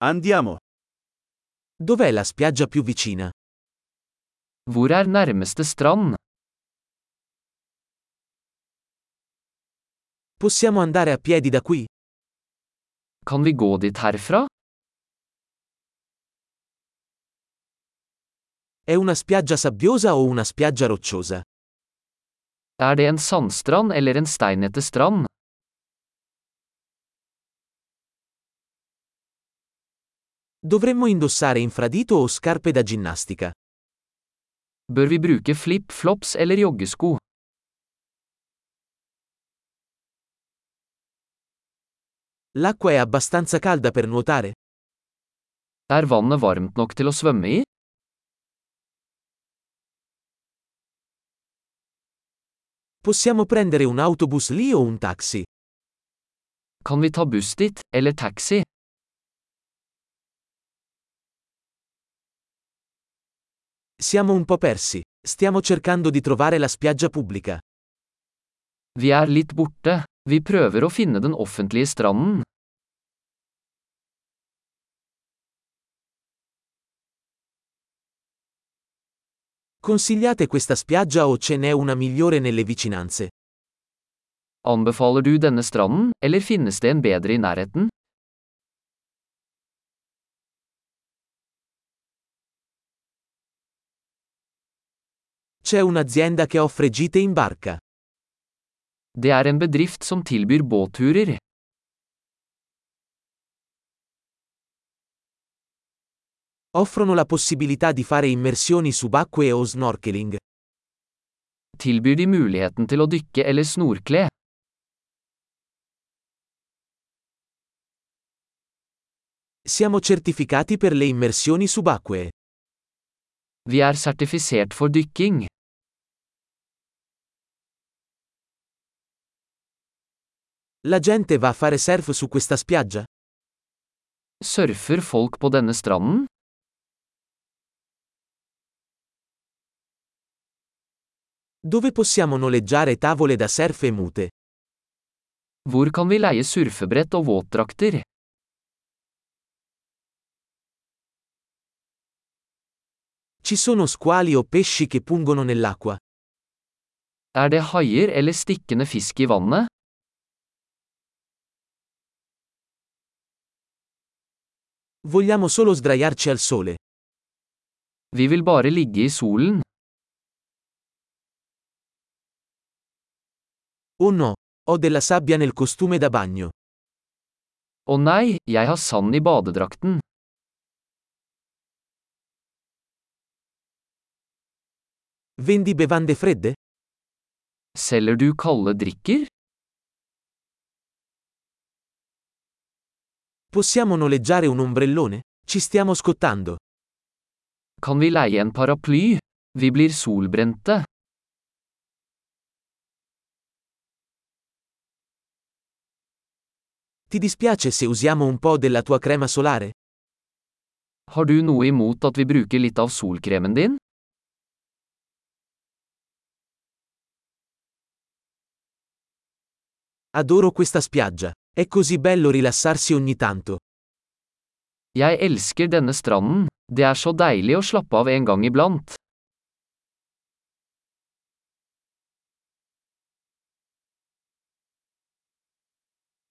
Andiamo. Dov'è la spiaggia più vicina? Hvor er nærmeste strand? Possiamo andare a piedi da qui? Kan vi gå dit herfra? È una spiaggia sabbiosa o una spiaggia rocciosa? Er det en sandstrand eller en steinete strand? Dovremmo indossare infradito o scarpe da ginnastica? Bør vi bruke flip-flops eller joggesko? L'acqua è abbastanza calda per nuotare? Er vannet varmt nok til å svømme i? Possiamo prendere un autobus lì o un taxi? Kan vi ta buss dit, eller taxi? Siamo un po' persi. Stiamo cercando di trovare la spiaggia pubblica. Vi er litt borte. Vi prøver å finne den offentlige stranden. Consigliate questa spiaggia o ce n'è una migliore nelle vicinanze? Anbefaler du denne stranden, eller finnes det en bedre i nærheten? C'è un'azienda che offre gite in barca. Det er en bedrift som tilbyr båtturer. Offrono la possibilità di fare immersioni subacquee o snorkeling. Tilbyr de muligheten til å dykke eller snorkle? Siamo certificati per le immersioni subacquee. Vi er sertifisert for dykking. La gente va a fare surf su questa spiaggia? Surfer folk på denne stranden? Dove possiamo noleggiare tavole da surf e mute? Hvor kan vi leie surfebrett og våtdrakter? Ci sono squali o pesci che pungono nell'acqua? Er det haier eller stikkende fisk i vannet? Vogliamo solo sdraiarci al sole. Vi vil bare ligge i solen. Oh no, ho della sabbia nel costume da bagno. Å nei, jeg har sand i badedrakten. Vendi bevande fredde? Selger du kalde drikker? Possiamo noleggiare un ombrellone? Ci stiamo scottando. Kan vi leie en paraply? Vi blir solbrente. Ti dispiace se usiamo un po' della tua crema solare? Har du noe imot at vi bruker litt av solkremen din? Adoro questa spiaggia. È così bello rilassarsi ogni tanto. Jeg elsker denne stranden. Det er så deilig å slappe av en gang iblant.